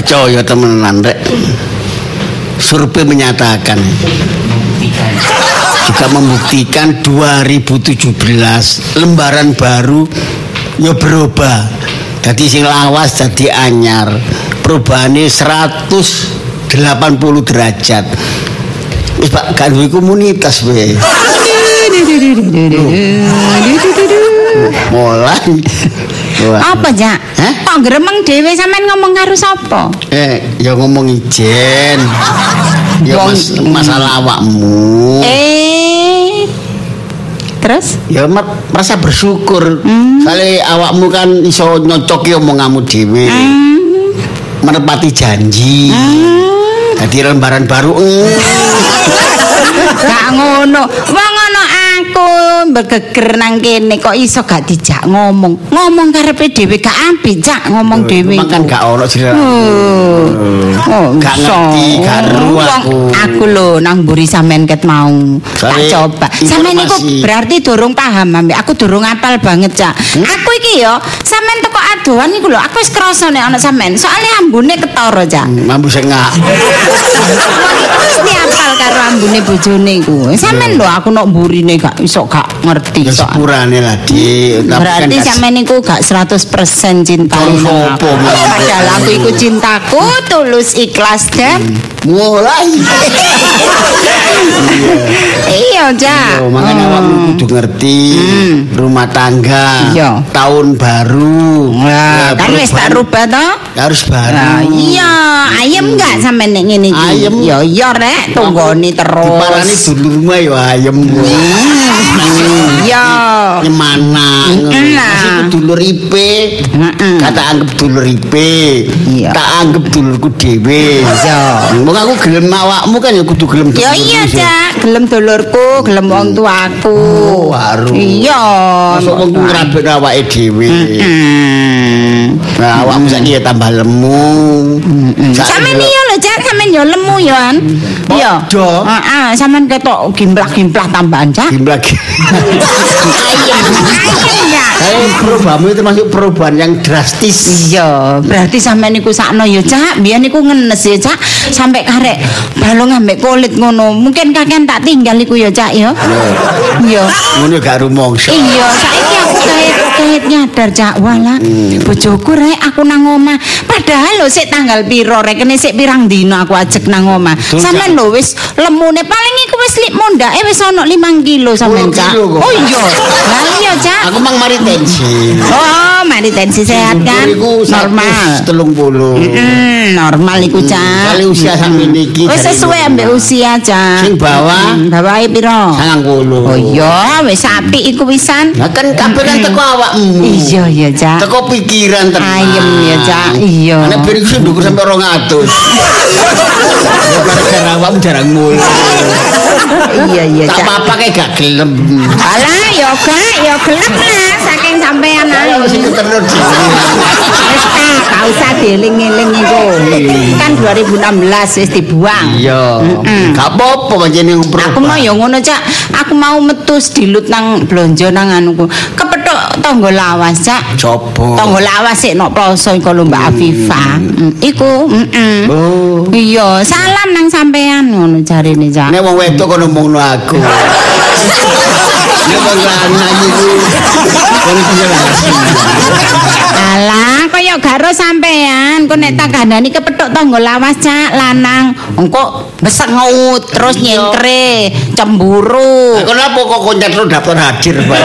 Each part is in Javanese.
percaya temenan rek. Survei menyatakan juga membuktikan 2017 lembaran baru ya berubah. Jadi sing lawas jadi anyar. Perubahannya 180 derajat. Wis Pak gak duwe komunitas we. Mulai. Apa, Jak? Kok gremeng dhewe sampean ngomong karo sapa? Ya ngomong ijen. Ya masalah awakmu. Terus? Ya merasa bersyukur. Soale awakmu kan iso nyocoki omonganmu dhewe. Menepati janji. Jadi lembaran baru. Gak ngono. Wong ngono aku bergeger nang kene kok iso gak dijak ngomong. Ngomong karepe dhewe gak apik, Jak, ngomong dhewe. Makan gak ono jenenge. Gak ngerti, gak ru aku lho nang mburi sampean ket mau. Tak coba. Sampean iku berarti durung paham ambek aku durung apal banget, Jak. Aku iki yo sampean teko adohan iku lho, aku wis krasa nek ana sampean. Soale ambune ketara, Jak. Mambu sengak. Mesti apal karo ambune bojone iku. Sampean lho aku nok mburine gak iso gak ngerti soal. Sepurane lah, Dik. Berarti sampean niku gak 100% cinta. Padahal aku iku cintaku tulus ikhlas dan mulai. Iya, Jak. Makanya awakmu kudu ngerti rumah tangga. Tahun baru. Kan wis tak rubah to? Harus baru. Iya, ayem enggak sampean nek ngene iki? Ayem. Ya iya rek, tunggoni terus. Diparani dulurmu ya ayem. Iya. Nyemana. Masih dulur ipe. Kata anggap dulur ipe. Tak anggap dulurku dhewe. Iya. Wong aku gelem awakmu kan ya kudu gelem dulurku. Ya iya, Jak. Gelem dulurku, gelem wong tuaku. Baru. Iya. Masuk wong ku ngrabek awake dhewe. Nah, awakmu saiki ya tambah lemu. Sampeyan iya lho, Jak, sampeyan ya lemu ya an. Iya. Heeh, sampeyan ketok gimplah-gimplah tambahan, Jak. Gimplah. Ayem ya. Perubahanmu itu termasuk perubahan yang drastis. Iya, berarti sampeyan niku sakno ya, Jak. Biyen niku ngenes ya, Jak. Sampai karek balung ambek kulit ngono. Mungkin kakean tak tinggal iku ya, Jak ya. Iya. Ngono gak rumangsa. Iya, saiki aku kayak nyadar, Jak. Walah, bojoku rek aku nang omah. Padahal lho sik tanggal piro rek kene sik pirang dina aku ajek nang omah. Sampeyan lho wis lemune paling iku wis mondake wis ana 5 kilo sampeyan, Jak. Oh iya. Lah iya, Jak. Aku mang mari tensi. Oh, mari tensi sehat kan? Normal. 30. Normal iku, Jak. Kali usia sampeyan iki. Wis sesuai ambek usia, Jak. Sing bawah bawahe piro? 90. Oh iya, wis apik iku wisan. Lah kan kabeh kan teko awakmu. Iya ya, Jak. Teko pikiran tenan. Ayem ya, Jak. Iya. Nek ben iku ndukur sampe 200. Ya gara-gara awakmu jarang mulai. Iya iya, Jak. Tak apa-apa kayak gak gelem. Alah, ya gelem lah saking sampean ae. Sing terus. Wis gak usah dieling-eling iku. Kan 2016 wis dibuang. Iya. Gak apa-apa pancene Aku mau ya ngono, Jak. Aku mau metu dilut nang blonjo nang anuku. Kepethuk tangga lawas, Jak. Coba. Tangga lawas sik nok ploso iku lho Mbak Afifah. Iku, Oh. Iya, salam nang sampean ngono jarine, Jak. Nek wong wedok kono ngomongno aku. Nek wong lanang iku kono alah, kaya garo sampean. Kok nek tak kandhani kepethuk tangga lawas, Jak, lanang. Engko besengut terus nyengkre, cemburu. Kenapa kok koncat lu daftar hadir, Pak?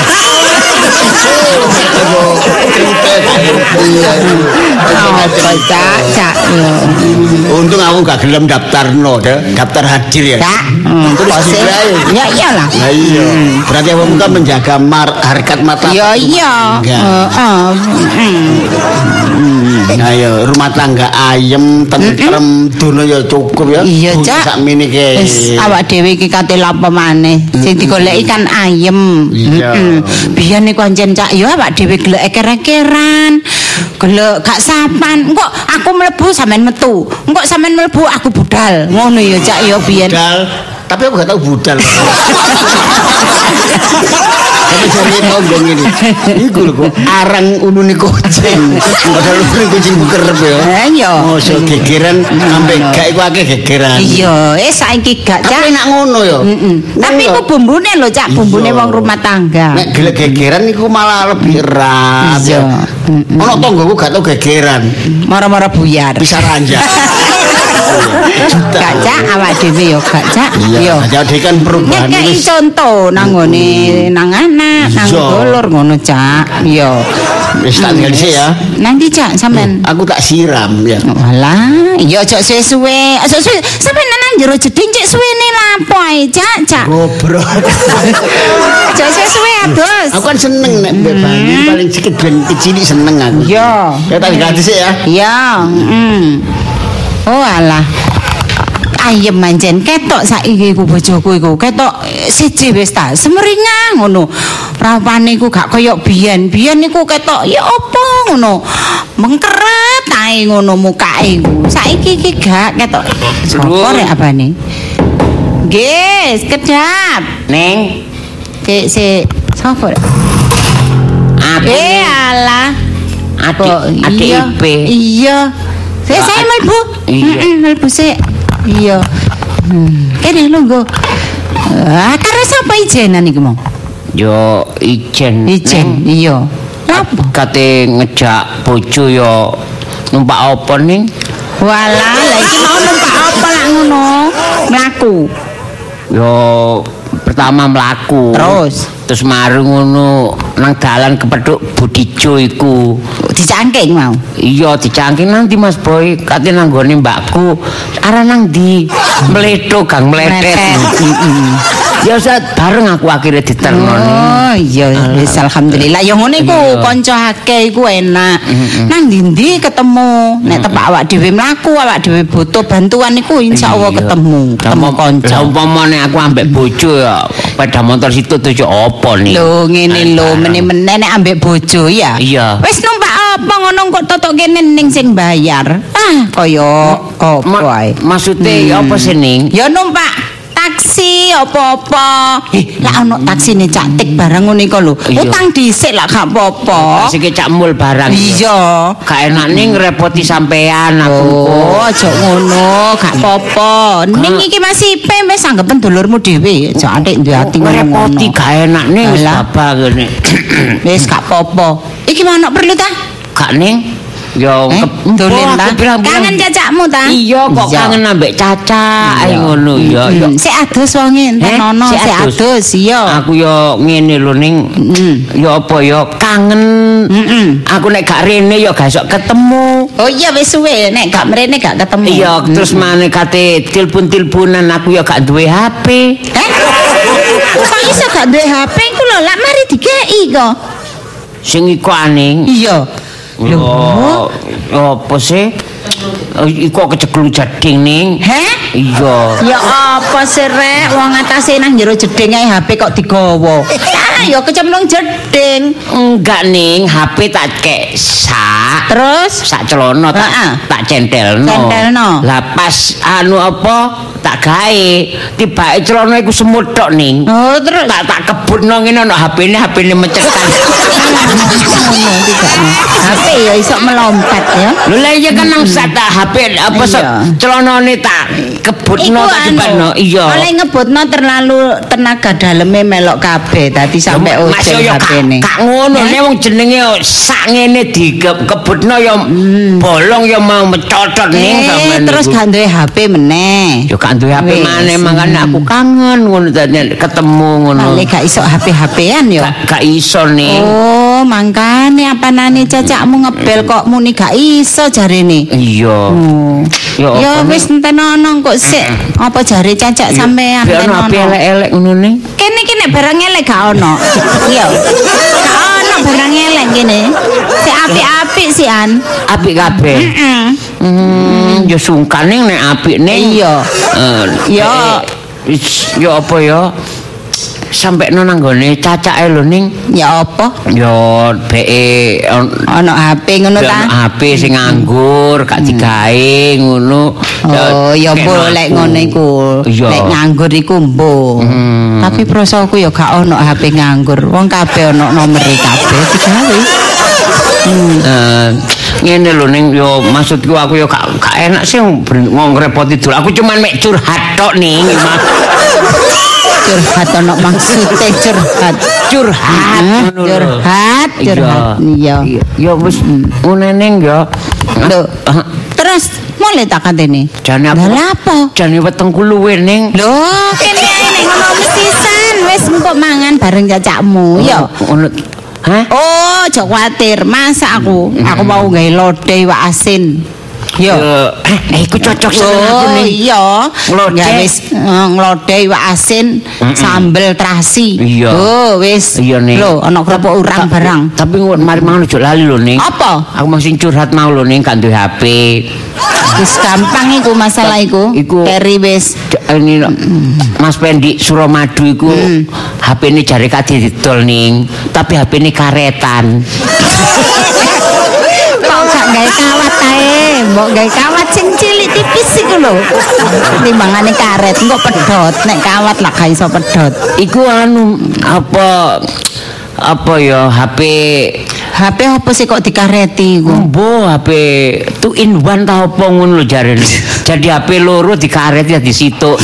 Cak. Untung aku gak gelem daftarno, daftar hadir ya. Cak. Ya iyalah. Nah iya. Berarti kamu kan menjaga harkat mata. Ya iya. Ayo rumah tangga ayem, tentrem, dono ya cukup ya. Iya, Cak. Sakmene ki. Wis awak dhewe iki kate lapo maneh. Sing digoleki kan ayem. Biyen niku pancen Cak ya awak dhewe gelek eker-ekeran. Gelek gak sapan. Engko aku mlebu sampean metu. Engko sampean mlebu aku budal. Ngono ya Cak ya biyen. Budal Tapi aku gak tahu budal. Tapi cari tonggong ini. Iku lho kok arang ulune kucing. Padahal ulune kucing kerep ya. Iya. Mosok gegeran sampe gak iku akeh gegeran. Iya, saiki gak Cak. Tapi enak ngono ya. Tapi iku bumbune lho Cak, bumbune wong rumah tangga. Nek gelek gegeran iku malah lebih erat. Iya. Ono tonggoku gak tau gegeran. Mara-mara buyar. Bisa ranjak. Gak Cak, awak dhewe yo gak Cak. Iya, jadi kan perubahan Ngekei contoh nang nggone nang anak, nang dulur ngono Cak. Iya. Wis tak tinggal sih ya. Nanti Cak sampean. Aku tak siram ya. Walah, iya aja suwe-suwe. Aja suwe. Sampeyan nang jero jeding cek suwene lapo ae Cak. Gobrok. Aja suwe-suwe ados. Aku kan seneng nek mbek banyu paling sedikit ben kecil seneng aku. Iya. Ya tak tinggal sih ya. Iya, Oh alah. Ayem manjen ketok saiki iku bojoku iku ketok siji wis ta semeringang ngono rapane iku gak kaya biyen niku ketok ya apa ngono mengkeret ae ngono mukake iku saiki iki gak ketok sapa rek abane nggih kedap Neng si sapa alah adik Ipe. Iya saya mlebu mlebu sik iya kene lungguh karo sapa ijenan iki mau yo ijen iya lapo kate ngejak bojo yo numpak apa ning walah lha iki mau numpak apa lak ngono mlaku yo pertama mlaku terus mari ngono nang dalan kepethuk Budijo iku dicangking mau iya dicangking nanti Mas Boy kate nang gone mbakku arah nang ndi mletho gang mletet ya saat bareng aku akhirnya diterno oh iya wis alhamdulillah ya ngono iku kanca akeh iku enak nang ndi ketemu nek tepak awak dhewe mlaku awak dhewe butuh bantuan iku insyaallah ketemu kanca umpamane aku ambek bojo ya pada motor situ tuh apa nih lho ngene lho meneh-meneh nek ambek bojo ya iya wis numpak apa ngono kok totok kene ning sing bayar kaya apa ae maksude apa sih ning ya numpak taksi apa-apa lah ono taksine cantik barang ngono iku lho utang dhisik lah gak apa-apa sik cak mul barang iya gak enak ning ngrepoti sampean aku aja ngono gak apa-apa ning iki masih Ipe wis anggapen dulurmu dhewe aja atik duwe ati ngono ngrepoti gak enak ning wis babak ngene wis gak apa-apa iki mau perlu ta gak ning yo dolen ta kangen cacakmu ta iya kok kangen ambek Caca ae ngono ya sik adus wonge enten ono sik adus iya aku yo ngene lho ning yo apa yo kangen aku nek gak rene yo gak iso ketemu oh iya wis suwe nek gak mrene gak ketemu iya terus maneh kate tilpun-tilpunan aku yo gak duwe HP kok iso gak duwe HP ku lho lak mari dikeki kok sing iku aning iya lho apa sih iku keceklu jeding ning iya ya apa sih rek wong atase nang jero jeding ae HP kok digawa ya kecemplung jeding enggak ning HP tak kek terus sak celana tak centelno lah pas anu apa tak gawe tibake celana iku semut tok ning oh terus tak kebutno ngene ono HP-ne mecetan HP ya iso melompat ya lho lah iya kan nang sak HP apa celanane tak kebutno tak jebano iya oleh ngebutno terlalu tenaga daleme melok kabeh dadi sampe ojek HP-ne gak ngono nek wong jenenge sak ngene dikebutno ya bolong ya mau mecotot ning sampean terus gak duwe HP meneh yo gak duwe HP maneh makane aku kangen ngono dadi ketemu ngono lek gak iso HP-HP-an ya gak iso ning oh mangkane apanane cacakmu ngebel kok muni gak iso jarene iya ya wis enten ono kok sik apa jare cacak sampean enten ono elek-elek ngono ning kene iki nek barang elek gak ono iya gak ono barang elek kene sik apik-apik sih an apik kabeh ya sungkan ning nek apik ning iya ya apa ya sampai nang nggone cacake lho ning. Ya apa? Ya beke Ana HP ngono ta? HP sing nganggur, gak digawe ngono. Oh, ya boleh ngono iku. Nek nganggur iku mbuh. Tapi prosoku ya gak ono HP nganggur. Wong kabeh ono nomere kabeh digawe. Ngene lho ning yo maksudku aku yo gak enak sih ngomong repoti dulu. Aku cuman mek curhat tok ning. Curhat ono maksude curhat. Curhat. Iya. Ya wis ngene ning yo. Lho. Terus mulai tak katene. Jane apa? Jane wetengku luwe ning. Lho, kene ning ngono mesisan wis empuk mangan bareng cacakmu. Yo. Hah? Oh, aja kuwatir. Masa aku mau gawe lodeh iwak asin. Yo. Iku cocok seneng aku nih. Iya. Ya wis nglodeh iwak asin sambel terasi. Iya. Oh, wis. Lho, ana kerupuk urang barang. Tapi mari mangan ojo lali lho ning. Apa? Aku masih curhat mau lho ning gak duwe HP. Wis gampang iku masalah iku. Keri wis ini Mas Pendi Suramadu iku HP-ne jare kadhe didol ning, tapi HP-ne karetan. Kok gak gawe kawat ae, mbok gawe kawat sing cilik tipis iku lho. Timbangane karet engko pedhot, nek kawat lah gak iso pedhot. Iku anu apa ya HP apa sih kok dikareti iku? Mbo HP 2 in 1 ta apa ngono lho jarene. Jadi HP loro dikareti ya disituk.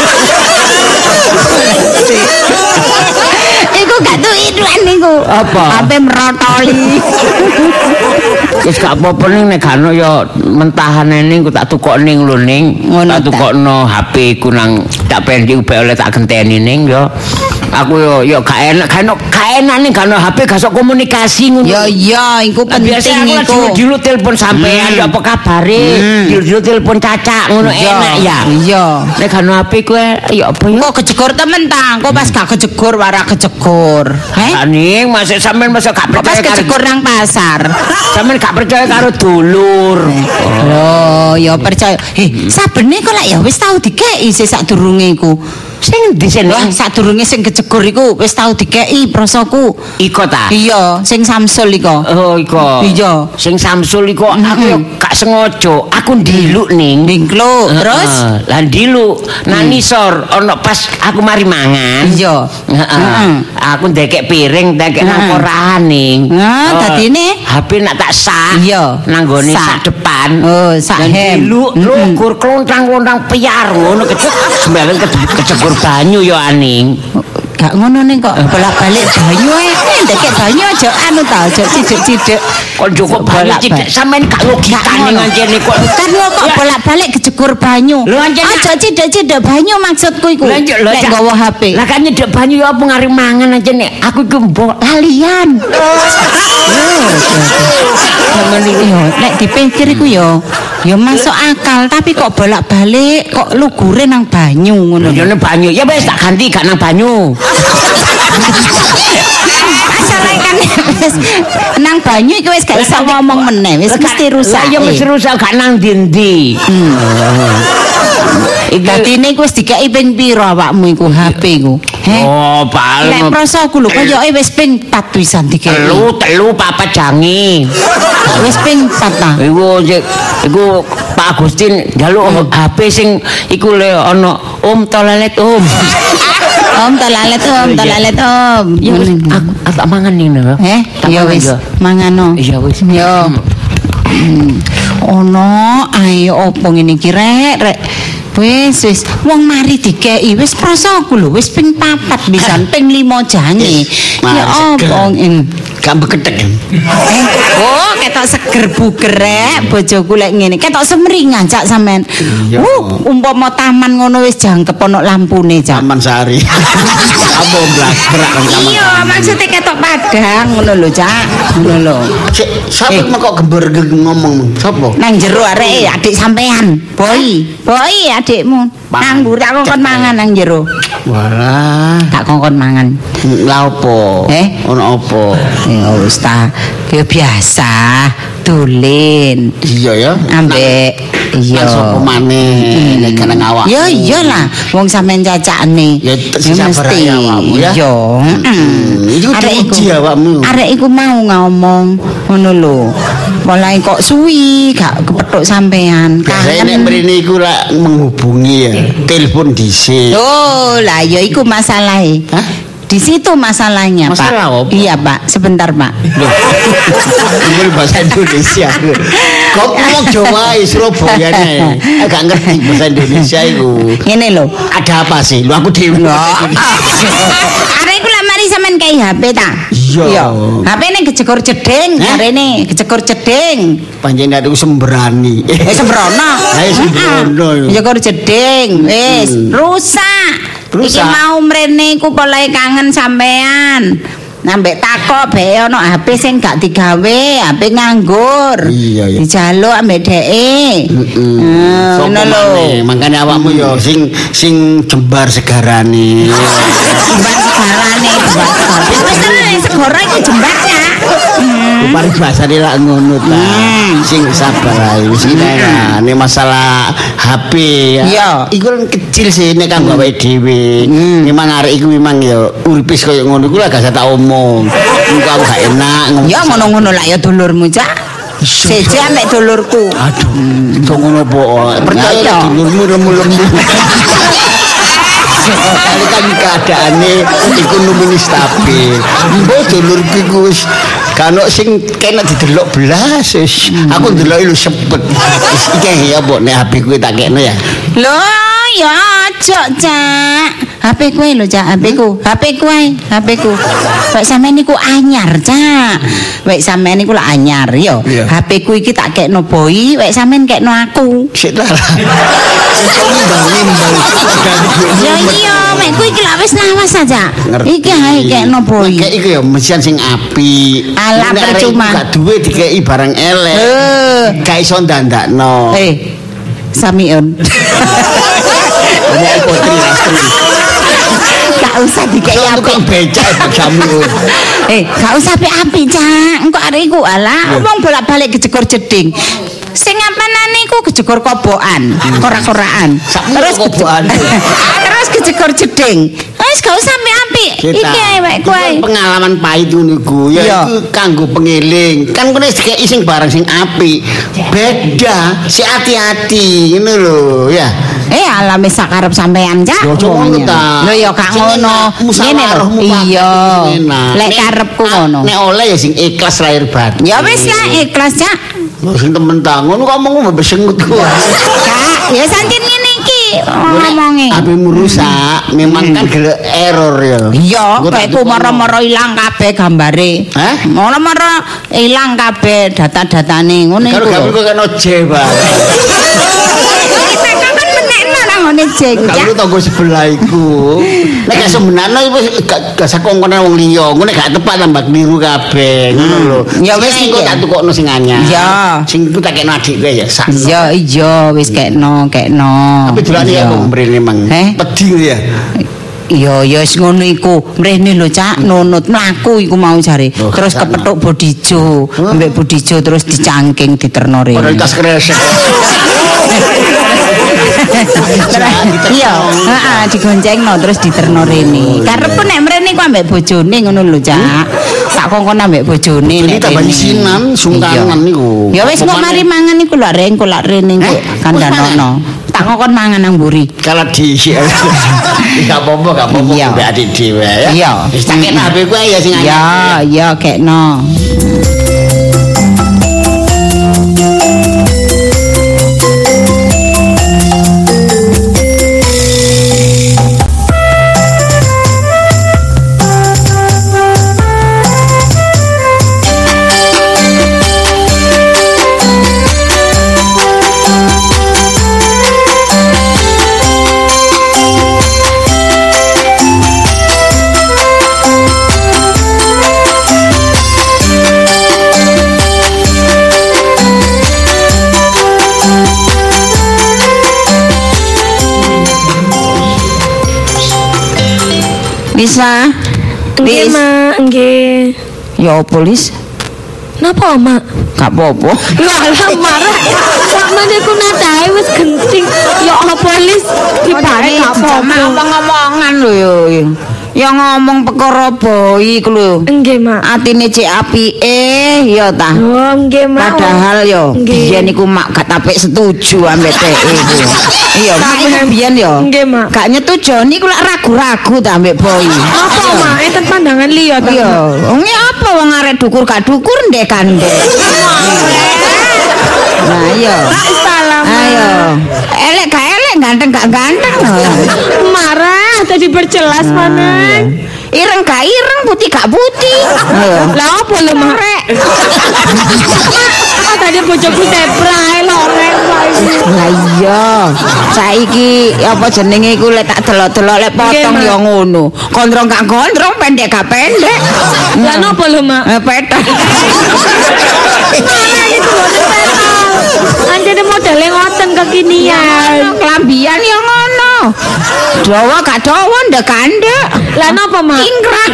Iku gak 2 in 1 niku. Apa? HP merotoli. Wis gak apa-apa ning nek gak ono ya mentahane ning tak tukok ning lho ning. Tak tukokno HP ku nang tak Pendi oleh tak genteni ning ya. Aku yo gak enak ning gak ono HP gak sok komunikasi ngono. Ya iya, iku penting iku. Dulu telepon sampean ya apa kabare? Dulu telepon cacak ngono enak ya. Iya. Nek gak ono HP ku ya apa ya? Kok kejegor temen ta? Kok pas gak kejegor warak kejegor. Ning masih sampean masa gak percaya pas kejegor nang pasar. Sampean gak percaya karo dulur. Oh, ya percaya. Sabene kok lak ya wis tau dikeki sik sadurunge iku. Sing di sini sadurunge sing kejegor iku wis tau dikeki prosoku. Iko ta? Iya, sing Samsul iko. Oh, iko. Iya. Sing Samsul iko aku yo gak sengaja. Aku ndiluk ning. Ndiluk. Terus lah ndiluk nang nisor ana pas aku mari mangan. Iya. Aku ndekek piring, ndekek nang korahan ning. Dadine HP nak tak sak. Iya. Nang gone sak depan. Oh, sak hem. Ndiluk lugur klontang-klontang piar ngono sembarang kejebur banyu yo aning. Gak ngono ning kok bolak-balik banyu ae. Ndekek banyu aja anu ta, aja cidek-cidek. Kok cukup banyu cidek sampean gak logikane ngancene kok. Kan kok bolak-balik kejegur banyu. Aja cidek-cidek banyu maksudku iku. Nek nggawa HP. Lah kan nyedek banyu ya apa ngari mangan aja nek aku iku mbok lalian. Nek dipikir iku ya masuk akal tapi kok bolak-balik kok lugure nang banyu ngono. Ya nang banyu. Ya wis tak ganti gak nang banyu. Asale kan wis nang banyu iki wis gak iso ngomong meneh, wis mesti rusak. Ya mesti rusak gak nang ndi-ndi. Dadine iku wis dikeki ping piro awakmu iku HP iku? Oh, paling nek prosoku lho koyoke wis ping 4 pisan dikeki. Telu papat jangi. Wis ping 4 ta. Iku Pak Agustin njaluk HP sing iku le ana Om Tolalet Om. Om Tolalet Om. Ya wis aku tak mangan ning lho. Ya wis mangano. Iya wis. Yo. Ono ayo opo ngene iki rek. Wis wong mari dikeki wis prasaku lho wis ping 4 pisan ping 5 jange. Ya opo gak beketek. Oh, ketok seger buger rek bojoku lek ngene. Ketok semringan cak sampean. Umpama taman ngono wis jangkep ono lampune cak. Taman Sari. Apa blak-blak kan taman. Iya, maksudnya ketok padang ngono lho cak. Ngono lho. Sapa kok gember ngomong? Sapa? Nang jero arek adik sampean. Boy adikmu. Nganggur tak kongkon mangan nang jero. Walah, tak kongkon mangan. Lah opo? Ono opo? Ya wis ta. Ya biasa. dolen. Iya ya. Ambek iya. Sapa maneh nek keneng awak. Ya iyalah, wong sampean cacakne. Ya sabar ya awakmu ya. Iya. Iku diuji awakmu. Arek iku mau ngomong ngono lho. Mulai kok suwi gak kepethuk sampean. Biasane nek mrene iku lak menghubungi ya, telepon dhisik. Oh, lah ya iku masalahe. Hah? Di situ masalahnya, Masalah Pak. apa? Iya, Pak. Sebentar, Pak. Loh. Ini bahasa Indonesia. Kok ngomong Jawa Surabaya nih. Agak ngerti bahasa Indonesia itu. Ngene lho. Ada apa sih? Lu aku dhewe. Arek iku lak mari sampean kei HP ta? Iya. HP-ne kejegor jeding, jarene kejegor jeding. Panjenengan aku sembrani. Sembrono. Ayo sembrono. Kejegor jeding. Wis, rusak. Iki mau mrene iku polahe kangen sampean. Nambek takok bae ono HP sing gak digawe, HP nganggur. Iya. Dijaluk ambek dheke. Ngono lho. Makane awakmu yo sing jembar segarane. Jembar segarane, wis tenan segara iku jembar ya. Paling bahasane lak ngono ta. Sing sabar ae wis ini masalah HP ya. Iya. Iku kan kecil sih nek kanggo awake dhewe. Memang arek iku memang ya uripe koyo ngono iku lah gak tak omong. Engko aku gak enak ngomong. Ya ngono-ngono lah ya dulurmu, Cak. Seje ambek dulurku. Aduh, kok ngono po. Percaya dulurmu lemu-lemu. Kali kan keadaane ekonomi stabil. Mbok dulurku iku wis Kano sing kena didelok belas wis. Aku ndeloki lu sepet. Wis iki ya mbok nek HP kuwi tak kekno ya. Lho, ya aja, Cak. HP kuwi lho, Cak, HP ku. HP ku ae, HP ku. Wek sampean niku anyar, Cak. Wek sampean niku lak anyar yo. HP ku iki tak kekno Boy, wek sampean kekno aku. Sik ta. Ya iya, mek ku iki lak wis lawas aja. Iki ae kekno Boy. Kayak iki ya mesin sing apik. Alah percuma. Gak duwe dikeki barang elek. Gak iso ndandakno. Samiun. Ngomong putri astri. Gak usah dikeki apik becak Samiun. Gak usah apik-apik, Cak. Engko arek iku alah wong bolak-balik kejegor jeding. Sing ampanane iku kejegor kobokan, korak-korakan. Terus kobokan. Terus kejegor jeding. Wis gak usah apik-apik. Iki ae wek kowe. Pengalaman pahit niku ya iku kanggo pengeling. Kan kene dikeki sing barang sing apik. Beda, si hati-hati ngono lho ya. Alam wis sakarep sampean, Cak. Lho ya gak ngono. Ngene lho. Iya. Lek karepku ngono. Nek oleh ya sing ikhlas lahir batin. Ya wis lah ikhlas, Cak. Lho sing temen ta ngono kok ngomong besengut ku. Kak, ya sancen ngene iki ngomonge. HP-mu rusak, memang kan gelek error ya. Iya, kayakku moro-moro ilang kabeh gambare. Moro-moro ilang kabeh data-datane ngono iku. Kalau kok kena jeba. Ngene jeng kalau tanggo sebelah iku nek gak sebenarnya gak sakongkone wong liya ngono gak tepat tambah niru kabeh ngono lho ya wis engko tak tukokno sing anyar ya sing iku tak kekno adikku ya sak iya wis kekno tapi dolane ya mrene mang pedhi ya iya ya wis ngono iku mrene lho Cak nunut mlaku iku mau jare terus kepethuk bodijo ambek bodijo terus dicangking diterno rene prioritas kresek iya digoncengno terus diterno rene karepku nek mrene ku ambek bojone ngono lho Cak tak kongkon ambek bojone nek tambah isinan sungkanan niku ya wis kok mari mangan iku lho reng kok lak rene kok kandhanono tak kongkon mangan nang mburi kalau di gak apa-apa mbak adik dhewe ya iya wis tak kena HP ku ya sing anyar iya kekno Bisa? Nggih, Ma, nggih. Ya polis. Napa, Mak? Gak apa-apa. Ya Allah marah. Sakmene ku nadahe wis genting. Ya apa lis dibare gak apa-apa. Ngomong-ngomongan lho yo. Ya ngomong perkara boi ku lho. Nggih, Mak. Atine cek apike ya ta. Oh, nggih, Mak. Padahal yo Nggih. biyen iku mak gak tapik setuju ambek teh iku. Iya, mak iku biyen yo. Nggih, Mak. Gak nyetuju niku lak ragu-ragu ta ambek boi. Apa, Mak? Enten pandangan liya ta? Iya, wong apa wong arek dukur gak dukur ndek kandhe. Nah, iya. Salam. Ayo. Elek gak elek, ganteng gak ganteng. Marah tadi berjelas mana? Ireng gak ireng, putih gak putih. Lah apa lho, Mak? Mak tadi bojoku seprae loreng wae. Lah iya. Saiki apa jenenge iku lek tak delok-delok lek potong Nggih, Mak. ya ngono. Gondrong gak gondrong, pendek gak pendek. Lah napa lho, Mak? Petak. Anjene modele ngoten kekinian. Kelambian ya ngono. Dawa gak dawa ndek kandek. Lah napa, Mak? Ingkrang.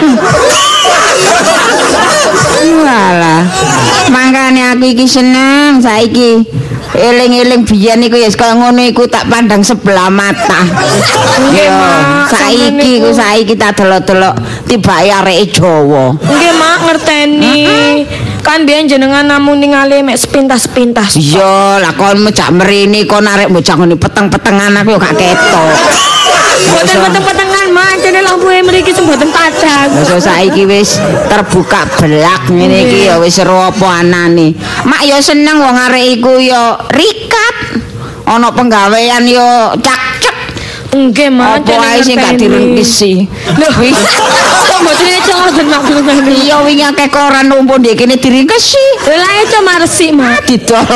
Walah. Mangkane aku iki seneng saiki. Eling-eling biyen iku ya kaya ngono iku tak pandang sebelah mata. Nggih, Yo, Mak. saiki tak delok-delok tibake areke Jawa. Nggih, Mak, ngerteni. Kan biyen jenengan namung ningali mek sepintas-sepintas. Iya, lah kon mejak mrene kon arek bocah ngene peteng-petengan aku yo gak ketok. Mboten peteng-petengan, Mak. Jane lampuhe mriki semboten padhang. Masa saiki wis terbuka belak ngene iki ya wis ero apa anane. Mak ya seneng wong arek iku ya rikat. Ana penggawean yo cak-cek. Nggih, Mak. Apa ae sing gak direngkisi. Lho, kok mboten eco ngoten, Mak. Iya wingi akeh koran numpuk ndek kene direngkesi. Lah eco marsik, Mak. Didol.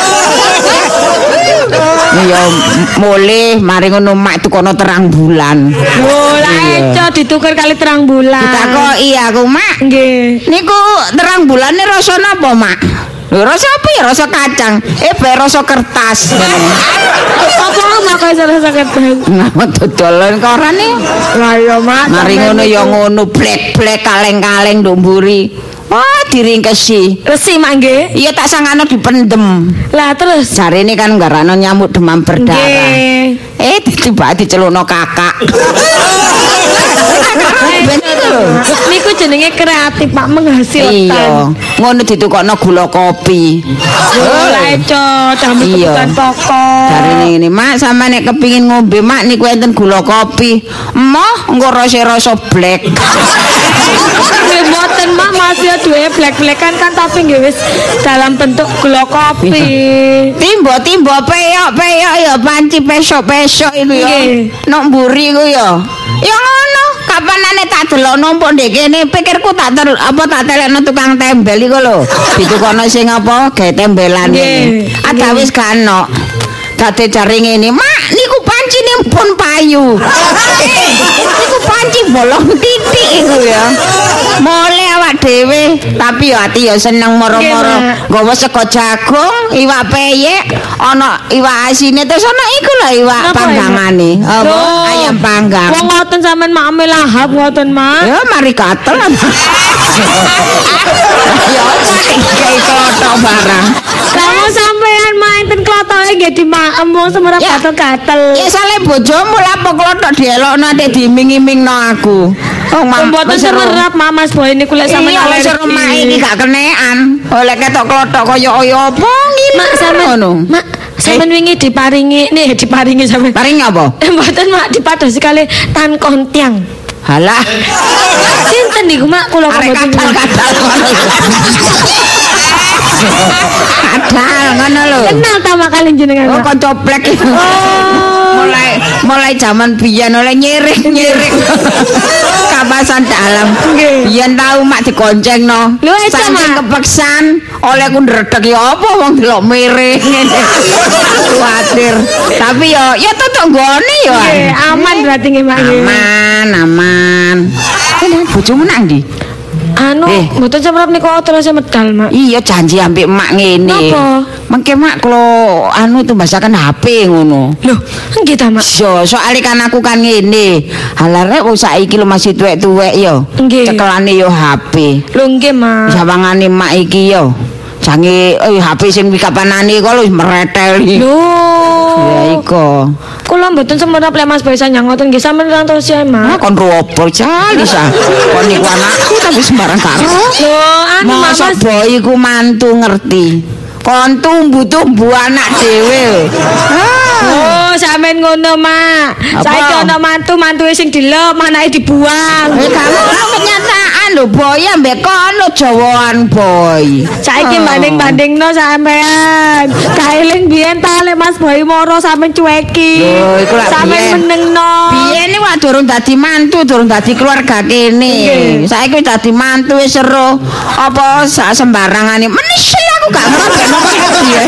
Ya mulih mari ngono mak tukono terang bulan. Oh, lah eco ditukar kali terang bulan. Ditakoki aku, Mak. Nggih. Niku terang bulane rasa napa, Mak? Lho rasa apa ya? Rasa kacang. Bae rasa kertas. Apa Mak kok iso sakit banget? Ngapa dodolan korane? Lah ya, Mak. Mari ngono ya ngono blek-blek kaleng-kaleng nduk mburi. Wah, diringkesi. Resi, Mak nggih. Iya tak sangano dipendem. Lah terus Jarene kan nggarano nyamuk demam berdarah. nggih. Tiba dicelukno kakak. Niku jenenge kreatif, Pak, menghasilkan. Iya, ngono ditukokno gula kopi. Oh, lah eco, jamu Iya. kebutuhan pokok. Jarine ngene, Mak, sampe nek kepingin ngombe, Mak, niku enten gula kopi. Emoh, engko rasa black. Nggih mboten, Mak, masih duwe black-blackan kan tapi nggih wis dalam bentuk gula kopi. Timbo-timbo peyok-peyok ya panci pesok-pesok iku ya. Nggih. Nok mburi iku ya. Ya ngono, kapanane tak delok numpuk ndek kene, pikirku tak telekno tukang tembel iku lho. Ditukono sing apa? Gawe tembelan Nggih. iki. Ada wis kanok. Dadi jare ngene, Mak, niku pancine pun payu. Niku panci bolong titik iku ya. Mole awak dhewe, tapi ya ati ya seneng moro-moro. Nggih, Nggawa sego jagung, iwak peyek, ana iwak asine terus ana iku lho iwak Napa, panggangane. Apa Loh, ayam panggang. Wong ngoten sampean mak lahap ngoten, Mak. Ya mari gatel. Ya kayak klothok barang. Kamu sampean main ten klotoke nggih dimaem wong semerap Ya. gatel-gatel. Ya sale bojomu lah apa klothok dielokno ate diiming-imingno aku. Oh, Mboten semerap Mak Mas Boy niku lek sampean iya wis alergi. rumah iki gak kenekan. Oleh ketok klothok kaya apa ngene. Mak sampean ngono. Mak sampean wingi diparingi sampean. Paring apa? Mboten Mak dipadosi kali tan kontiang. Halah. Sinten niku Mak kula kok Arek mboten. kadal ngono. Kadal ngono lho. Kenal ta Mak kali jenengan. Oh, Mak? kanca plek. Mulai zaman biyen oleh nyirik kapasan dalam. Nggih. Biyen tau mak digoncengno. Lho, eca, Saking Mak. kepeksan oleh ku ndredeg ya apa wong delok miring ngene. Kuwatir. Tapi ya tutuk nggone ya. Nggih, aman berarti nggih Mak. nggih. Aman. Ini bojomu nang ndi? Anu, mboten semrep niku terus medal, Mak. Iya janji ambek mak ngene. Napa? Mengke mak kalau anu tumbasaken HP ngono. Loh, nggih ta, Mak? Yo, soalnya kan aku kan ngene. Halarek wong saiki lho masih tuwek-tuwek yo. Nggih. Cekelane yo HP. Lho nggih, Mak. Sawangane mak iki yo. Jange HP sing kapanane kok wis mereteli. Lho. Ya iko. Kula mboten semrep lek Mas Boy sanjang ngoten nggih sampeyan rantos ya, Ah Mak. kon ropo jali sa. Kon niku anakku tapi sembarang karo. Lho, anu Mak, Masa Mas. boy iku mantu ngerti. Kon tumbu-tumbu anak dhewe. Oh, sampean ngono, Mak. Apa? Saiki ana mantu-mantuke sing dilep, anake dibuang. Kamu kenyataan lho boy ambek kono jawaan boy. Saiki banding-bandingno sampean. Kaeling biyen ta lek Mas Boy moro sampean cueki. Lho, iku lak biyen. Sampean menengno. Biyen iki wak durung dadi mantu, durung dadi keluarga kene. Nggih. Saiki wis dadi mantu wis seru. Apa sak sembarangane. Menisel aku gak ngerti napa piye.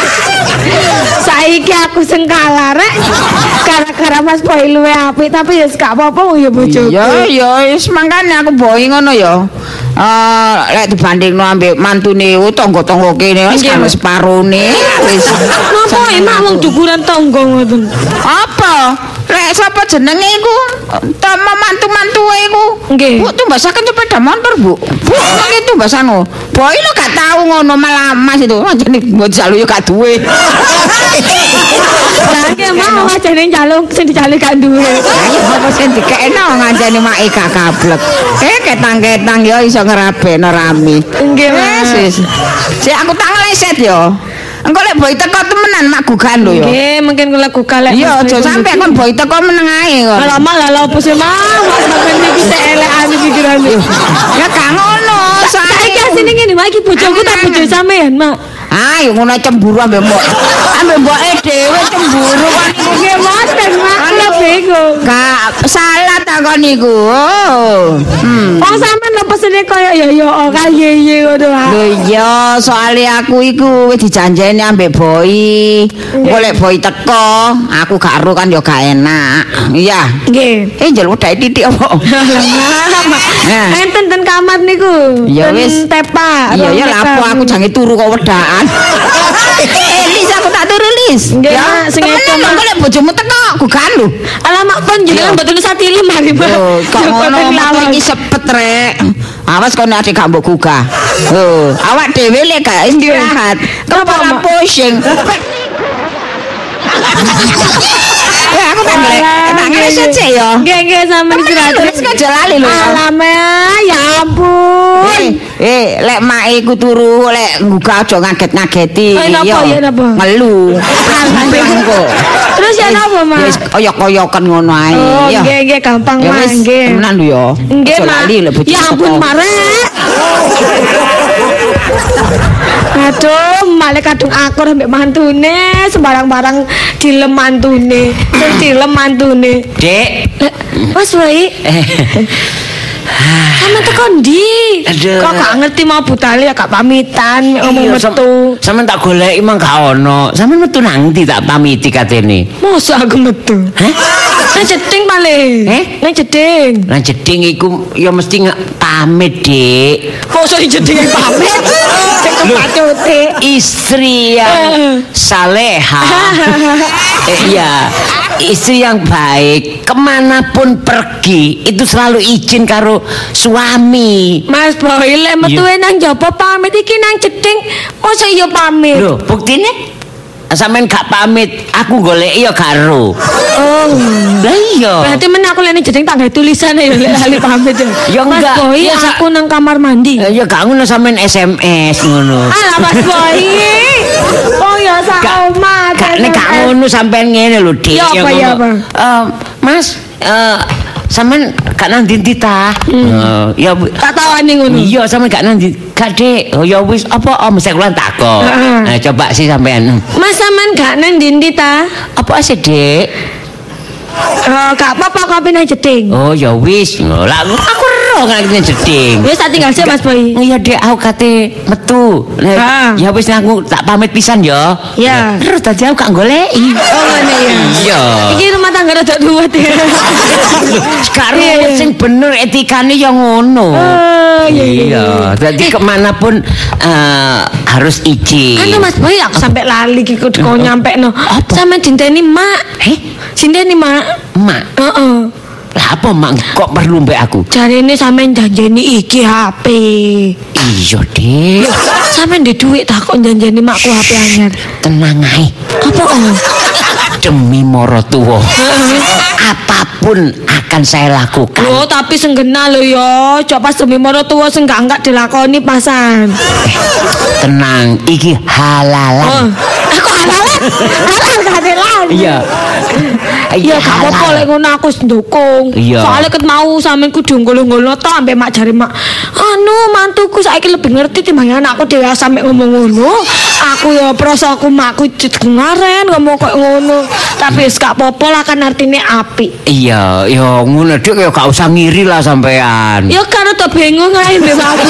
Saiki aku sing kalah rek. Gara-gara Mas Boy luwe apik tapi ya gak apa-apa ya bojoku. Iya, ya wis mangkane aku boy ngono ya. Lek dibandingno ambek mantune tangga-tangga kene wis kan separone wis. Napa emak wong dukuran tangga ngoten? Apa? Lek sapa jenenge iku? Tama mantu-mantuwe iku. Nggih. Bu tumbasaken sepeda motor, Bu. Bu, niki tumbasano. Boy lo gak tahu ngono malah Mas itu. Anjene mbok jalu yo gak duwe. Lah nggih mau ajane njaluk sing dijaluk gak duwe. Ayo apa sing dikekno ngancani make gak kablek. Ketang-ketang yo iso ngerabekno rame. Nggih, Mas. Wis. Sik aku tak ngeleset yo. Engko lek boy teko temenan mak gugan lho yo. Nggih, mungkin kula gugalek. Iya, aja sampe kon boy teko meneng ae kok. Alamak lah opo sih, Mas? Sampeyan iki sik elekan pikirane. Ya gak ngono. Saiki asine ngene, Mak, iki bojoku tak bojo sampean, Mak. Ayo ngono cemburu ambek mbok. Ambek mboke dhewe cemburu kon iku. Nggih, mboten, Mak. Kula bingung. Gak salah ta kon niku. Oh. Wong sampean lho pesene koyo ya ora ye ngono wae. Lho iya, soalnya aku iku wis dijanjeni ambek boy. Engko lek boy teko, aku gak ero kan ya gak enak. Iya. Nggih. Njaluk dae titik apa? Nah. Enten ten kamar niku. Ya Ten wis. tepak. Iya ya lapo aku jange turu kok wedaan. Lis aku tak turu Lis. Nggih, Mak, sing temenan edo, lho, Mak. engko lek bojomu teko gugan lho. Alamak pun jenengan mboten usah tilem mari, Mak. Lho, kok ngono metu iki sepet rek. Awas kono ade gak mbok gugah. Lho, awak dhewe lek gak istirahat, kepala pusing. Ya aku tak ngeleset sih ya. Nggih sampeyan istirahat. Wis aja lali lho. Alamak, ya ampun. Lek mak iku turu lek nggugah aja ngaget-ngageti. Napa ya, napa? Ngelu. Kok. Terus ya napa, Mak? Wis koyok-koyokan ngono ae. Oh, Ya. nggih gampang, Ya Mak, wis, nggih. temenan lho ya. Nggih, Aja Mak. lali lek bojo Ya ampun, teko. Marek. Aduh, malah kadung akur ambek mantune, sembarang-barang dilem mantune. Sing dilem mantune. Dek. Mas Boy. Sama teko ndi? Aduh. Kok gak ngerti mau budale ya gak pamitan ngomong metu. Sampeyan tak goleki mang gak ono. Sampeyan metu nang ndi tak pamiti katene. Mosok aku metu. Hah? Nang jeding paling. Nang jeding. Lah jeding iku ya mesti pamit, Dik. Mosok jeding pamit. Cek kepacute. Istri yang saleha. Iya, istri yang baik kemanapun pergi itu selalu izin karo suami. Mas Boy lek metuwe nang jaba pamit iki nang jeding mosok iya pamit. Loh, buktine sampean gak pamit, aku goleki ya karo. Oh. Lah iya. Berarti men aku lek nang jeding tak gawe tulisan ya lek lali pamit. Ya Mas enggak. Boy Ya, aku nang kamar mandi. Ya gak ngono sampean SMS ngono. Alah Mas Boy. Oh ya sak omah. Gak nek gak ngono sampean ngene lho, Dik. Ya apa, ya apa? Mas, sampean gak nang ndi ta? Ya Tak tawani ngono. iya sampean gak nang ndi. Gak, Dik. Oh ya wis apa mesti kula takok. Heeh. Nah, coba sih sampean. Mas sampean gak nang ndi ta? Apa sih, Dik? Gak apa-apa kopi nang jeding. Oh ya wis. Lah aku ero Iya, ngene jeding. Wis tak tinggal sih Mas Boy. Iya Dek, aku kate metu. Ya wis aku tak pamit pisan ya. Ya. Terus tadi aku gak goleki. Oh ngene ya. Iya. Iki rumah tangga rada duwet ya. Sekarang sing bener etikane ya ngono. Iya, jadi kemanapun harus izin. Anu Mas Boy aku sampai lali iki kok nyampe no. Sampe dinteni mak. Dinteni mak. Mak. Heeh. Lah apa mak kok perlu mbek aku? Jarene sampean janjeni iki HP. Iya, Dik. Sampean ndek dhuwit tak kok janjeni makku HP anyar. Tenang ae. Apa Demi Morotuwo. Apapun akan saya lakukan. Loh, tapi senggena lho ya. Cok pas demi Morotuwo sing enggak dilakoni pasan. Tenang, iki halalan. Aku halalan. Halal halalan. Iya. Iya, gak apa-apa lek ngono aku ndukung. Soale ket mau sampean kudu nggolo-nggolo tok ambek mak jare mak. Anu, mantuku saiki lebih ngerti timbang anakku dhewe sampe ngomong ngono. Aku ya prosoku makku ngaren ngomong kok ngono. Tapi wis gak apa-apa lah kan artine apik. Iya, ya ngono Dik ya gak usah ngiri lah sampean. Ya kan udah bingung ae mbek aku.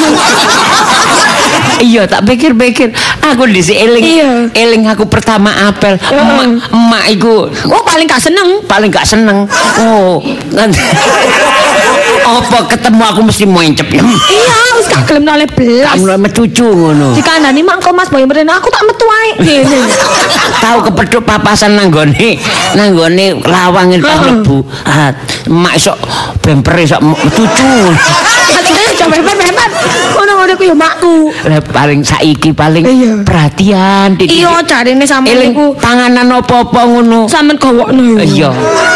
Iya, tak pikir-pikir aku dhisik eling aku pertama apel. Emak iku paling gak seneng. Oh, nanti apa ketemu aku mesti mencep. Iya, wis gak gelem oleh belas. Kamu metuju ngono. Dikandani mak kok Mas Boy mrene aku tak metu ae. Tahu kepethuk papasan nanggone lawangin pas mlebu. Emak sok bempere sok metuju. Coba hebat. Ngono-ngono ku ya makku. Paling saiki perhatian Dik. Iya, jarine sampeyan niku panganan apa-apa ngono. Sampeyan gawokno. Iya.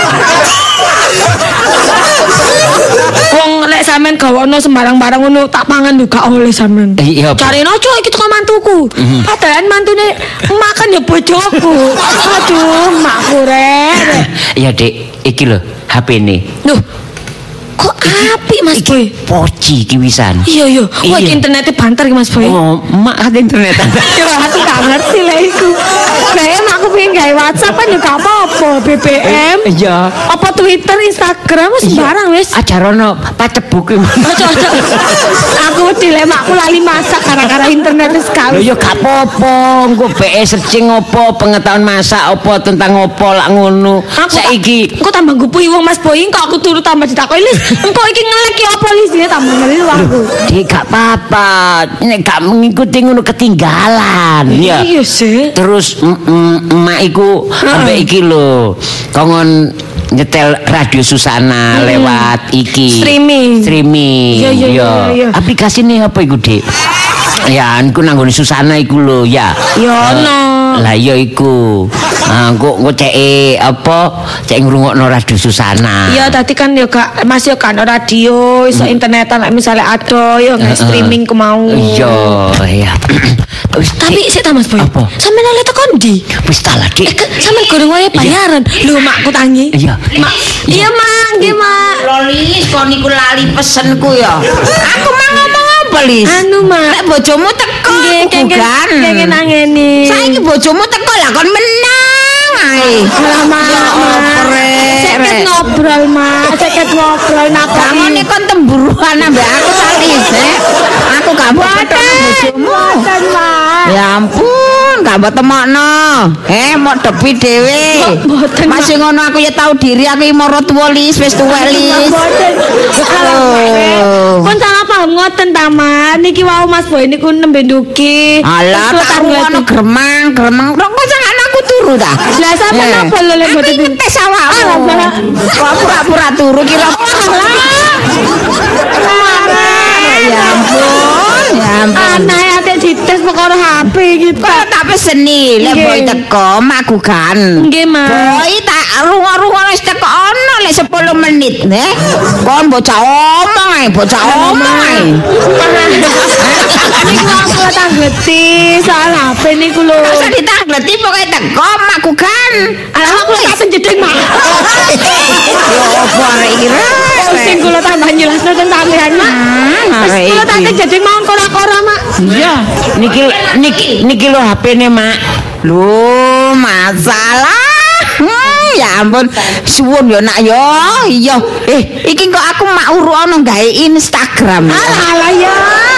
Wong lek sampean gawokno sembarang-barang ngono tak pangan juga oleh sampean. Iya. Carine ojo iki teko mantuku. Padahal mantune makan ya bojoku. Aduh, makku rek. Iya, Dik. Iki lho HP-ne. Loh. Kok apik Mas Boy? Poci ki wisan. Iya. Wah, internetnya banter Mas Boy. Oh, mak ada internet. Ya aku gak ngerti lah iku. BBM aku pengen gawe WhatsApp kan juga apa-apa, BBM. Iya. Apa Twitter, Instagram sembarang wis. Ajarono pacebuk. Aku dilemaku lali masak gara-gara internet wis Lho ya gak apa-apa, engko BE searching apa, pengetahuan masak apa tentang apa lak ngono. Saiki engko tambah gupuhi wong Mas Boy, kok aku turu tambah ditakoki Lis. Engko iki ngelek ya apa Lis dia tambah ngelu aku. Dik gak apa-apa, nek gak mengikuti ngono ketinggalan. Ya. Iya sih. Terus emak iku ambek iki lho, kongon nyetel Radio Susana lewat iki streaming. Iya. Aplikasine apa iku, Dik? Ya, aku nanggone Susana iku lho, ya. Ya ono. Lah iya iku. Engko cek apa? Cek ngrungokno Radio Susana. Iya, tadi kan ya gak masih kan radio, iso internetan misalnya ada ya streaming ku mau. Iya. Tapi sik ta Mas Boy. Sampeyan oleh tekan ndi? Wis ta lah, Dik. Sampeyan goreng wae bayaran. Lho, makku tangi. Iya. Mak. Iya, Mak. Nggih, Mak. Lolis, kon niku lali pesenku ya. Aku mau ngomong apa, Lis? Anu, Mak. Lek bojomu teko, bukan. Kenging nangeni. Saiki bojomu teko lah kon menang ae. Ceket ngobrol, Mak. Ceket ngobrol Kamane kon temburuan ambek aku Lis. Aku gak mau ketemu bojomu. Ya ampun, gak mbok temokno. Mau depi dhewe. Masih ngono aku ya tahu diri aku moro tuwa Lis, wis tuwek Lis. Kon salah paham ngoten ta, Mak. Niki wau Mas Boy niku nembe nduki. Alah, tak ngono gremang. Kok jangan aku turu ta? Lah sampeyan napa lho lek mboten ngetes awakmu. Pura-pura turu kira. Ya ampun. Anak ate dites perkara HP gitu. Kok tak peseni lek boy teko magugan. Nggih, Mak. Boy tak rungo-rungo wis teko ono lek 10 menit, Kon bocah omong ae. Niku aku tangleti soal HP niku lho. Masa ditangleti pokoke teko magugan. Alah aku tak penjedeng, Mak. Yo opo arek iki? Sing kula tambah jelasno tentang sampean, Mak. Kula tak jedeng mawon kora-kora, Mak. Iya, niki lho HP-ne, Mak. Loh, masalah. Ya ampun, suwun yo nak yo. Iya. Iki kok aku mak urukno gawe Instagram. Alah ya.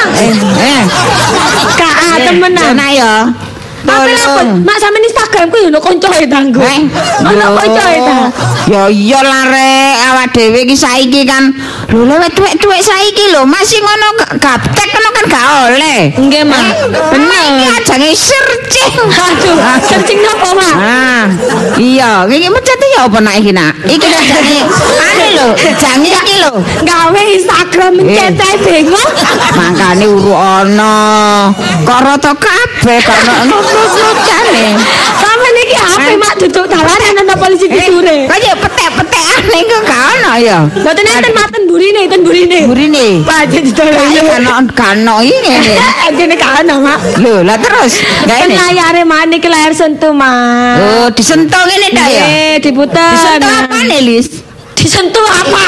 Kak temenan. Nak yo. Apa mak sampean Instagramku yo ono koncoe tanggo. Ono koncoe ta. Ya iya lah rek, awak dhewe iki saiki kan lho lewat tuwek-tuwek saiki lho masih ngono gaptek ngono kan gak oleh. Nggih, Mak. Bener. Iki ajange searching. Aduh, searching napa, Mak? Iya, iki mencet ya apa nak iki nak? Iki ajange ane lho, jange iki lho. Gawe Instagram mencet bingung. Makane uruk ana. Kok rata kabeh kok ono nutut-nutane. Sampeyan iki HP mak duduk dalanan ana polisi dicure. Kaya petek-petekan niku gak ono ya. Mboten enten maten burine, enten burine. Burine. Pancen ditolong. Kano iki ngene. Entene gak ono, Mak. Lho, lah terus. Kan layare mak niki layar sentuh, Mak. Oh, disentuh ngene ta ya? Diputer. Disentuh apa nih, Lis? Disentuh apa?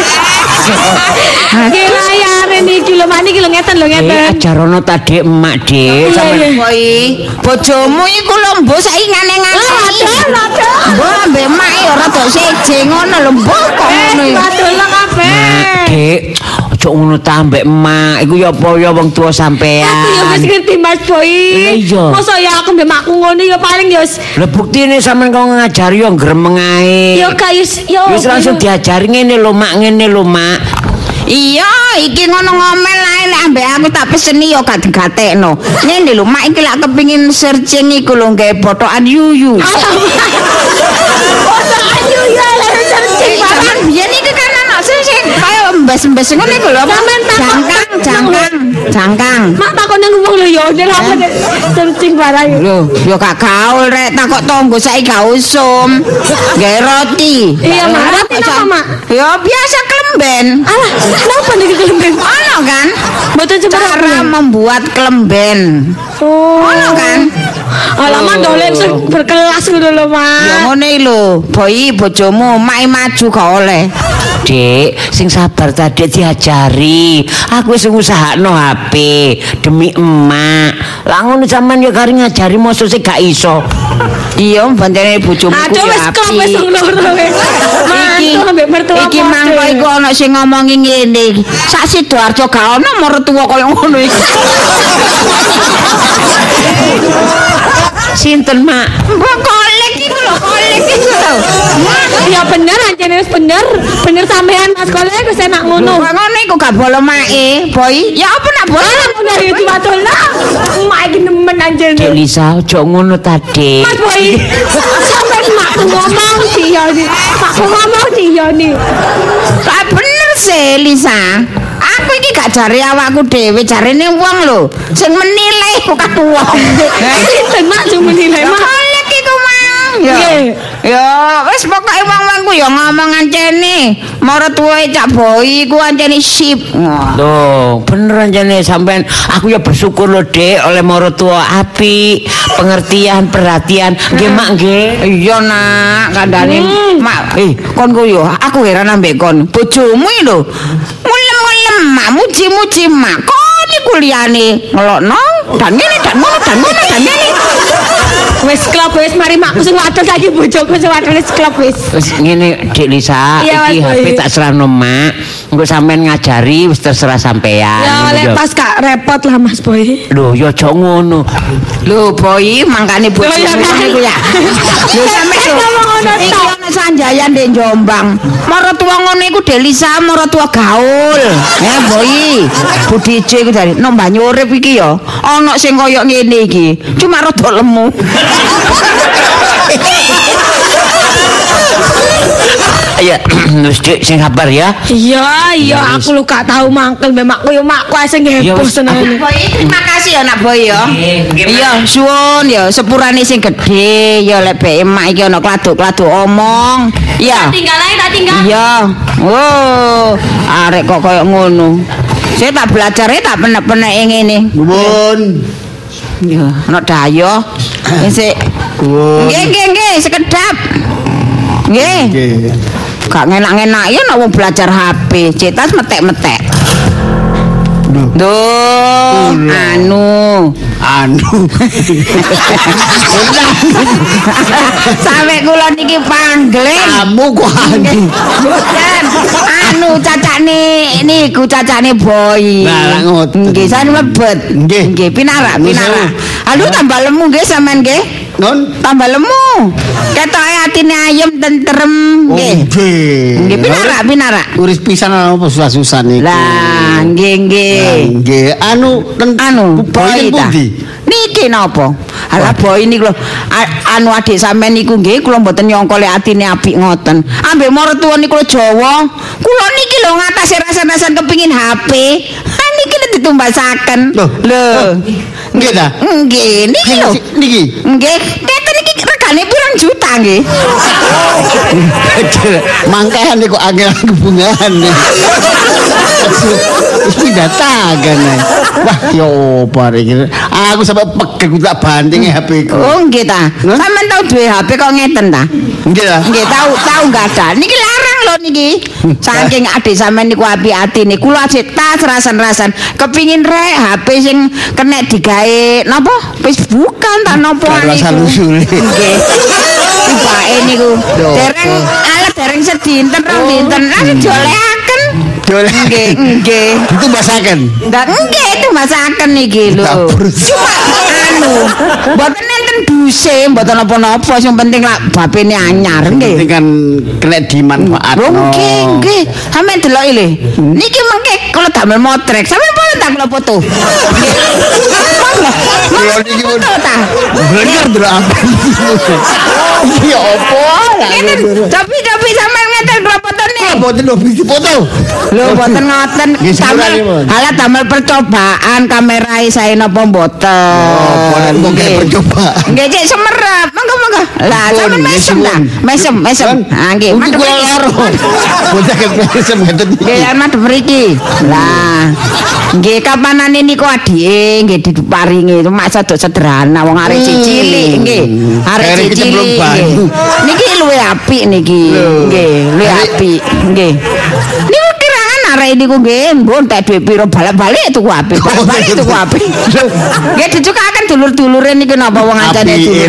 Ki layare niki lho, Mak niki lho ngeten lho ngeten. Ajarono tadi emak, Dik. Sampeyan koi bojomu iku lho mbok saiki ngane-ngane. Lho. Mbok ambek mak ya rada seje ngono lho, mbok kok ngono ya. Waduh lah kabeh. Dik, ojo ngono ta ambek emak. Iku ya apa ya wong tua sampean. Aku ya wis ngerti Mas Boy. Iya. Masa ya aku mbek makku ngono ya paling ya wis. Lah buktine sampean kok ngajari yo gremeng ae. Ya kayus yo. Wis langsung diajari ngene lho, Mak, ngene lho, Mak. Iya, iki ngono ngomel ae lek ambek aku tak peseni yo gak digatekno. Ngene lho, mak iki lak kepengin searching iku lho gawe potokan yuyu. Potokan yuyu lek searching barang. Biyen iki kan ana sing kaya mbes-mbes ngono iku lho. Jangkang. Mak takon nang wong lho yo, nek apa searching barang. Lho, yo gak gaul rek takok tonggo saiki gak usum. Gawe roti. Iya, Mak. Roti apa, Mak? Yo biasa kelemben. Alah, kenapa niki kelemben? Ono kan? Mboten Cara membuat kelemben. Oh. Ono kan? Alamak dolek sing berkelas ngono lho, Mak. Ya ngene lho, Boy bojomu mak maju gak oleh. Dik, sing sabar tadi diajari. Aku wis ngusahakno HP demi emak. Lah ngono sampean ya kari ngajari mosok sik gak iso. Iya, pancene bojomu ku Aduh wis klop wis loro wis. Mantu ambek mertua. Iki mangko iku ana sing ngomongi ngene. Sak Sidoarjo gak ono mertua kaya ngono iki. Sinten, Mak? Mbok kolek iku lho, kolek iku lho. Ya bener anjene wis bener. Bener sampean Mas Kolek wis enak ngono. Kok ngono iku gak bolo mae, Boy. Ya apa nak bolo? Ngono ya diwadola. Mak iki nemen anjene. Dik Lisa, ojo ngono tadi. Mas Boy. Sampean makku ngomong diyoni. Makku ngomong diyoni. Tak bener sih, Lisa. Aku iki gak jare awakku dhewe, jarene wong lho sing menilai kok wong. Sinten Mak sing menilai Mak? Kolek iku mang. Ya, wis pokoke wong-wong ku ya ngomong ancene. Maratuwe Cak Boy ku ancene sip. Loh, bener anjane sampean aku ya bersyukur lho, Dek, oleh maratuwa apik, pengertian, perhatian. Nggih, Mak, nggih. Iya nak, kandhane mak kon ku yo aku heran ambek kon. Bojomu iki lho. Mulem-mulem mak muji-muji mak. Kon iki kuliahane ngelokno dan ngene dan ngono dan ngono dan ngene. Wis klop wis mari makku sing wadon saiki bojoku sing wadon wis klop wis. Wis ngene Dik Lisa, Iya, iki Mas HP Boy. tak serahno, Mak. Engko sampean ngajari wis terserah sampean. Ya oleh pas gak repot lah Mas Boy. Lho, ya aja ngono. Lho Boy, mangkane bojomu Lho, ya kan? iku ya. Lho sampe lho. Ngomong ngono Iki tok. ana Sanjayan ndek Jombang. Maratuwa ngono iku Delisa, maratuwa gaul. Ya Boy, Budi C iku dari nombah urip iki ya. Ana sing koyo ngene iki. Cuma rada lemu. Ya, wis Dik sing sabar ya. Iya, aku lu gak tahu mangkel mbek makku yo makku ae sing Ya, heboh wis, seneng. Boy, terima kasih ya nak Boy ya. Nggih, Iya, suwun ya sepurane sing gedhe ya lek bek emak iki ana kladuk-kladuk omong. Iya. Tinggal ae tak tinggal. Iya. Oh, arek kok koyo ngono. Saya tak belajar tak penek-penek ngene. Nuwun. Ya, ana dayo. Sik. Nuwun. Nggih, sekedap. Nggih. Nggih. Gak ngenak-ngenak ya nek wong belajar HP, cetas metek-metek. Duh, anu, Anu. Sampai kula niki panggil. Kamu kok anu. Anu cacane niku cacane Boy. Lah ngoten. Nggih sane mlebet. Nggih pinarak. Aduh tambah lemu nggih sampean nggih. Non Tambah lemu. Ketoke atine ayem tentrem nggih. Nggih pinarak. Uris pisan apa susah-susah niku. Lah nggih. Nggih, anu Boy ta. Niki napa? Alah Boy niku lho. Anu adik sampean niku nggih kula mboten nyangka lek atine apik ngoten. Ambek martua niku Jawa. Kula niki lho ngatasi rasa-rasan kepingin HP. Niki lho ditumbasaken. Lho. Nggih ta? Nggih, niki lho. Niki. Nggih, keten iki regane pirang juta nggih. Mangkahan kok angel hubungan. Wis pindatakan. Wah, yo bare iki. Aku sampe pegel ku tak banting HP ku. Oh, nggih ta. Sampeyan tau duwe HP kok ngeten ta? Nggih ta? Nggih, tahu enggak ada. Niki larang lho niki. Saking adik sampean niku apik atine. Kula ajek tas rasan-rasan. Kepingin rek HP sing kena digawe napa? Facebookan ta napa niku. Nggih. Tibake niku. Dereng sedinten rong dinten langsung diolehaken. Nggih. Ditumbasaken. Nggih, ditumbasaken iki lho. Cuma mboten enten duse, mboten apa-apa, sing penting lak bapene anyar nggih. Penting kan kena dimanfaatno. Nggih. Sampeyan deloki lho. Niki mengke kula damel motrek. Sampeyan boleh tak kula foto. Kula niki pun bener ndelok apa. Ya apa lah. Tapi sampeyan ngeten kula fotone. Mboten lho bisa foto. Lho mboten ngoten. Halah damel percobaan kamerae sae napa mboten. Nggih percobaan. Nggih cek semerap. Monggo. Lah sampeyan mesem. Ha nggih. Mungkin kula loro. Bocah mesem ngeten iki. Nggih madhep mriki. Lah nggih kapanane niku adike nggih diparingi mak sadok sederhana wong arek cilik nggih. Arek cilik. Niki luwih apik niki. Nggih, luwih apik. Nggih. Niku kirangan arek niku nggih mbon tak dhuwit piro balik-balik tuku apik. Balik tuku apik. Nggih dicukaken dulur-dulure niku napa wong ajane dulur.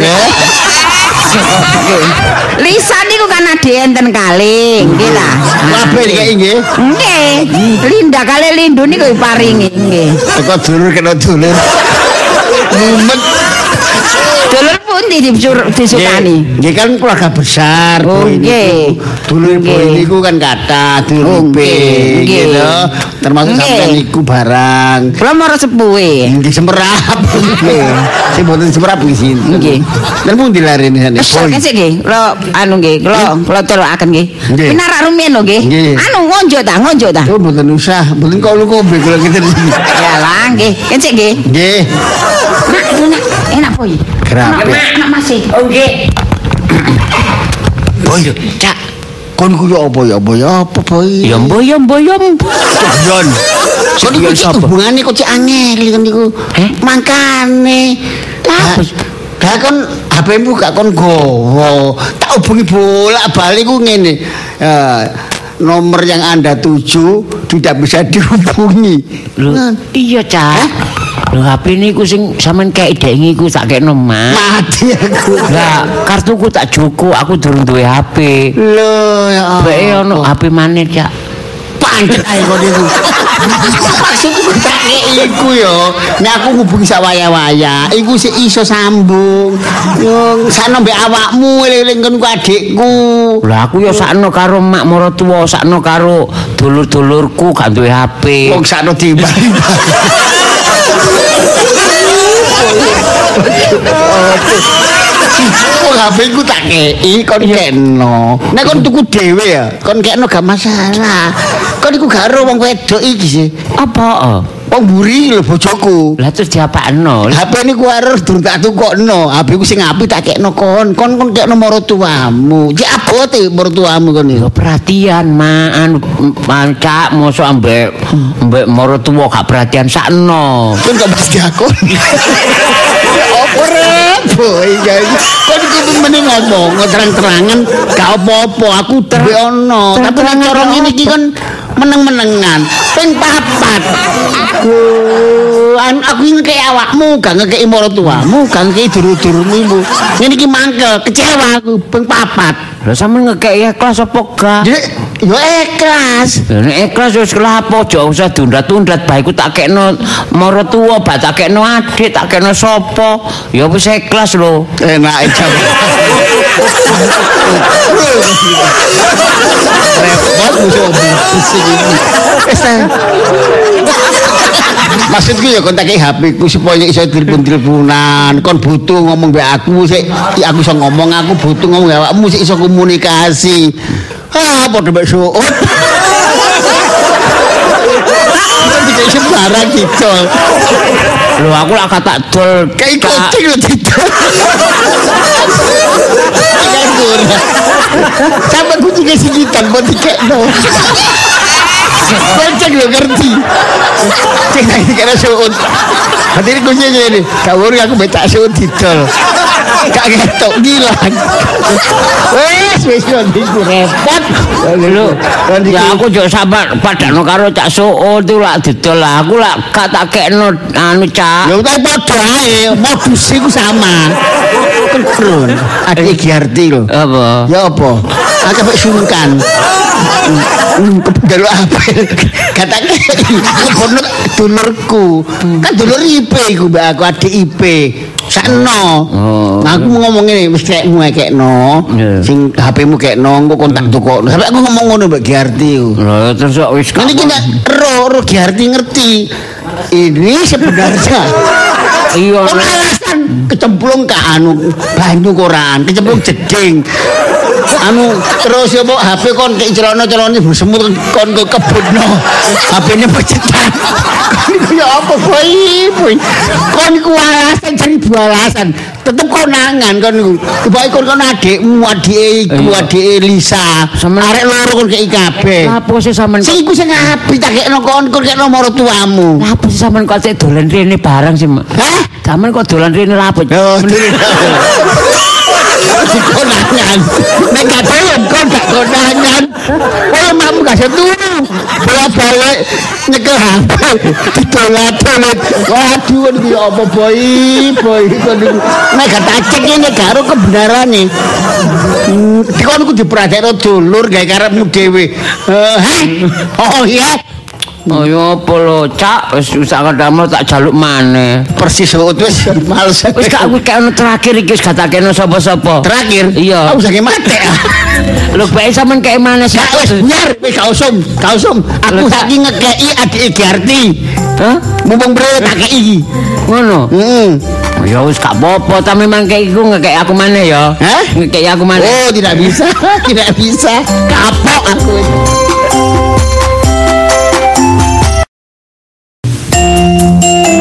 Lisa niku kan ade enten kalih, nggih lah. Kabeh iki nggih. Nggih. Linda kali Lindu niku paringi nggih. Teko dulur kena dulur. Mumet. Dulur pundi disukani? Nggih kan keluarga besar. Oh nggih. Dulur niku kan kathah, dulur nggih lho. Termasuk sampeyan niku barang. Kula mara sepuhe. Nggih semerap. Nggih. Sing mboten semerap nggih sinten. Nggih. Lan pundi larene sane? Kesek nggih. Kula anu nggih, kula telokaken nggih. Pinarak rumiyin lho nggih. Anu ngonjo ta. Oh mboten usah, mboten kombe kula ngeten. Ya lah nggih. Kesek nggih. Nggih. Nak, enak boy. Nak masih. Oh nggih. Boy, Cak. Kon ku yo apa ya boy? Ya mboyom. Yon. Kon iku hubungane kok cek angel kan niku. Mangkane. Lah kon HP-mu gak kon gowo. Tak hubungi bolak-balik ku ngene. Nomor yang Anda tuju tidak bisa dihubungi. Iya, Cak. Lho HP niku sing sampean kek idek iku tak kekno Mak. Mati aku. Lah kartuku tak joko, aku durung duwe HP. Lho ya. Beke ono HP maneh, Cak. Pancet ae kok niku. Maksudku tak iku yo. Nek aku ngubungi sak waya-waya, iku sik iso sambung. Yo sakno mbek awakmu eling kon ku adikku. Lah aku yo sakno karo mak maratuwa, sakno karo dulur-dulurku gak duwe HP. Wong sakno timbang-timbang. Kok HP ku tak kei kon keno. Nek kon tuku dhewe ya, kon keno gak masalah. Kon iku karo wong wedok iki sih. Apa? Wong mburi lho bojoku. Lah terus diapakno? HP niku arep durung tak tukokno. HP ku sing apik tak kekno kon kekno maratuamu. Cek abote maratuamu kon iki. Perhatian, Mak. Cak mosok ambek maratuwa gak perhatian sakno. Kon kok mesti aku. Apa rep? Boy, kon iku mending ngomong terang-terangan gak apa-apa. Aku duwe ono. Tapi nek cara ngene iki kon meneng-menengan. Kowe ping 4. Aku ngekei awakmu, gak ngekei maratuamu, gak ngekei dulur-dulurmu. Ngene iki mangkel, kecewa aku ping 4. Lah sampean ngekei ikhlas apa gak? Yo ikhlas. Nek ikhlas wis kelapa aja usah tunda-tunda bae ku tak kekno maratuwa, bak tak kekno adik, tak kekno sapa. Ya wis ikhlas lho. Enake jam. Repot musuh bising iki. Maksudku ya kon tak HP ku supaya iso telepon-teleponan, kon butuh ngomong mbek aku sik aku iso ngomong, aku butuh ngomong mbek awakmu sik iso komunikasi. Padha mbek suut. Iki sembarang dicol. Lho aku lak tak dol kayak kucing lho dicol. Sampai kucing kasih gitar buat dikekno. Kucing lho ngerti. Cek lagi karena suut. Hadir kucingnya ini. Kau aku betak suut dicol. Kak ketok gilang. Wes iku repot. Lho, ya aku yo sampe padano karo Cak Suut itu lak didol lah. Aku lak gak tak kekno anu Cak. Lho tak padha ae, modus iku sama. Kron. Adik Giarti lho. Apa? Ya apa? Aku mek sungkan. Delok apa? Katake kono dulurku. Kan dulur IP iku mbak aku adik IP. Sakno. Nah, aku ngomong ngene wis kekmu kekno. Sing HP-mu kekno engko kon tak tukokno. Sampai aku ngomong ngono mbak Giarti. Lho terus kok wis Ini kita ro Giarti ngerti. Ini sebenarnya iya alasan kecemplung ke anu banyu koran, kecemplung jeding. Anu terus ya mbok HP kon kek celana-celana semut kon ke kebunno. HP-ne pecetan. Kon ya apa boy? Kon ku alasan cari alasan. Tetep konangan kon niku. Tiba kon adikmu, adike adike Lisa. Arek loro kon kei kabeh. Apa sih sampean? Sing iku sing apik tak kekno kon kekno maratuamu. Apa sih sampean kok cek dolan rene barang sih, Mak? Hah? Sampean kok dolan rene lha apa? Konangan. Nek gak doyan kon gak konangan. Kowe mamu gak seturu. Bola-balik nyekel HP. Didolat-dolat. Waduh iki apa boy kon niku. Nek gak tak cek ngene karo kebenarane. Kon ku dipradekno dulur gawe karepmu dhewe. Oh iya. Oh ya apa lho, Cak, wis usah kadamel tak jaluk maneh. Persis wis males. Wis gak aku kene terakhir iki wis gak tak kene sapa-sapa. Terakhir? Iya. Aku sakit mati. Lho bae sampean kek maneh sih. Wis biar wis gak usum. Aku saiki ngekeki adike Giarti. Hah? Mumpung bre tak kei. Ngono. Heeh. Ya wis gak apa-apa, tapi memang kayak iku ngekek aku maneh ya. Hah? Ngekek aku maneh. Oh, tidak bisa. Tidak bisa. Kapok aku.